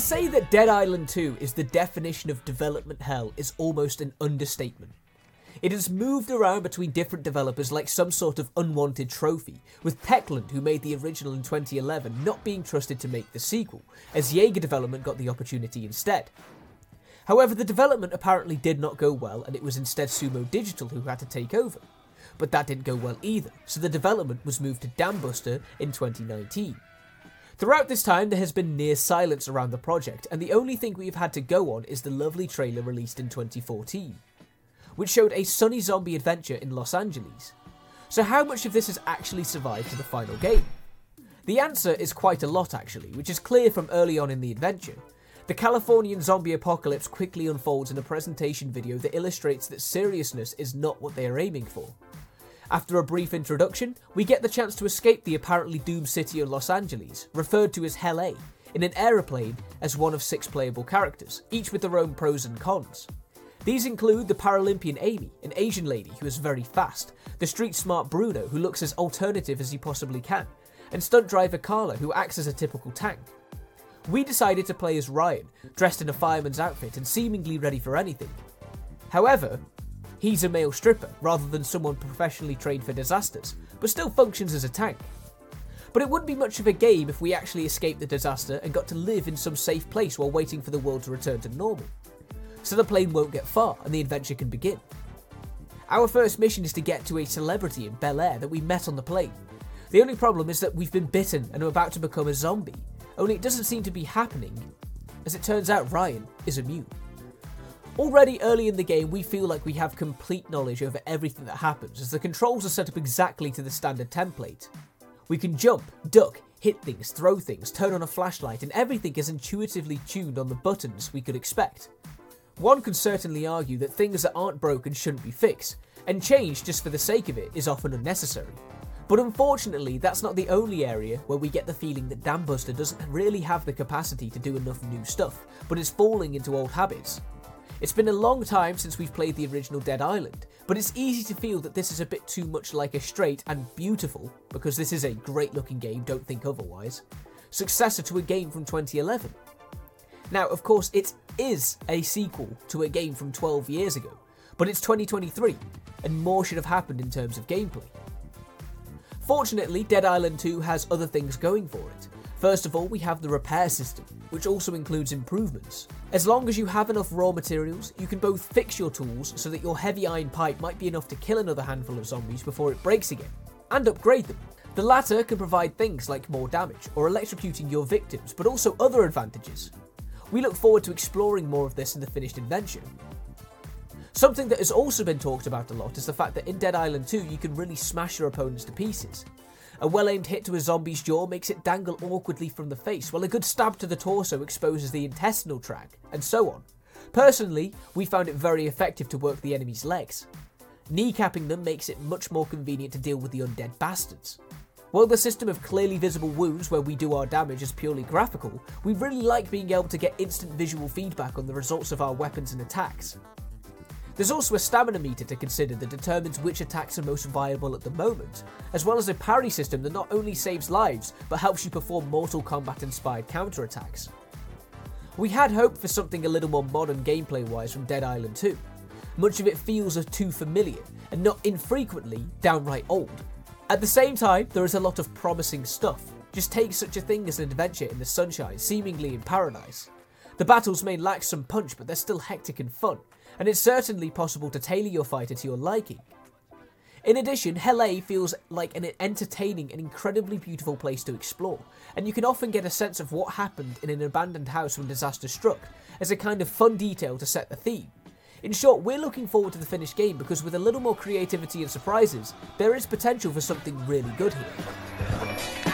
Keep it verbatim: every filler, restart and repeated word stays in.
say that Dead Island two is the definition of development hell is almost an understatement. It has moved around between different developers like some sort of unwanted trophy, with Techland, who made the original in twenty eleven, not being trusted to make the sequel, as Jaeger Development got the opportunity instead. However, the development apparently did not go well, and it was instead Sumo Digital who had to take over. But that didn't go well either, so the development was moved to Dambuster in twenty nineteen. Throughout this time, there has been near silence around the project, and the only thing we've had to go on is the lovely trailer released in twenty fourteen, which showed a sunny zombie adventure in Los Angeles. So how much of this has actually survived to the final game? The answer is quite a lot actually, which is clear from early on in the adventure. The Californian zombie apocalypse quickly unfolds in a presentation video that illustrates that seriousness is not what they are aiming for. After a brief introduction, we get the chance to escape the apparently doomed city of Los Angeles, referred to as Hell A, in an aeroplane as one of six playable characters, each with their own pros and cons. These include the Paralympian Amy, an Asian lady who is very fast, the street-smart Bruno, who looks as alternative as he possibly can, and stunt driver Carla, who acts as a typical tank. We decided to play as Ryan, dressed in a fireman's outfit and seemingly ready for anything. However, he's a male stripper, rather than someone professionally trained for disasters, but still functions as a tank. But it wouldn't be much of a game if we actually escaped the disaster and got to live in some safe place while waiting for the world to return to normal. So the plane won't get far and the adventure can begin. Our first mission is to get to a celebrity in Bel Air that we met on the plane. The only problem is that we've been bitten and are about to become a zombie, only it doesn't seem to be happening. As it turns out, Ryan is immune. Already early in the game, we feel like we have complete knowledge over everything that happens, as the controls are set up exactly to the standard template. We can jump, duck, hit things, throw things, turn on a flashlight, and everything is intuitively tuned on the buttons we could expect. One could certainly argue that things that aren't broken shouldn't be fixed, and change just for the sake of it is often unnecessary. But unfortunately, that's not the only area where we get the feeling that Dambuster doesn't really have the capacity to do enough new stuff, but is falling into old habits. It's been a long time since we've played the original Dead Island, but it's easy to feel that this is a bit too much like a straight and beautiful, because this is a great looking game, don't think otherwise, successor to a game from twenty eleven. Now, of course, it is a sequel to a game from twelve years ago, but it's twenty twenty-three, and more should have happened in terms of gameplay. Fortunately, Dead Island two has other things going for it. First of all, we have the repair system, which also includes improvements. As long as you have enough raw materials, you can both fix your tools so that your heavy iron pipe might be enough to kill another handful of zombies before it breaks again, and upgrade them. The latter can provide things like more damage or electrocuting your victims, but also other advantages. We look forward to exploring more of this in the finished adventure. Something that has also been talked about a lot is the fact that in Dead Island two you can really smash your opponents to pieces. A well-aimed hit to a zombie's jaw makes it dangle awkwardly from the face, while a good stab to the torso exposes the intestinal tract, and so on. Personally, we found it very effective to work the enemy's legs. Kneecapping them makes it much more convenient to deal with the undead bastards. While the system of clearly visible wounds where we do our damage is purely graphical, we really like being able to get instant visual feedback on the results of our weapons and attacks. There's also a stamina meter to consider that determines which attacks are most viable at the moment, as well as a parry system that not only saves lives, but helps you perform Mortal Kombat inspired counterattacks. We had hoped for something a little more modern gameplay wise from Dead Island two. Much of it feels too familiar, and not infrequently downright old. At the same time, there is a lot of promising stuff. Just take such a thing as an adventure in the sunshine, seemingly in paradise. The battles may lack some punch, but they're still hectic and fun, and it's certainly possible to tailor your fighter to your liking. In addition, Hell A feels like an entertaining and incredibly beautiful place to explore, and you can often get a sense of what happened in an abandoned house when disaster struck, as a kind of fun detail to set the theme. In short, we're looking forward to the finished game because with a little more creativity and surprises, there is potential for something really good here.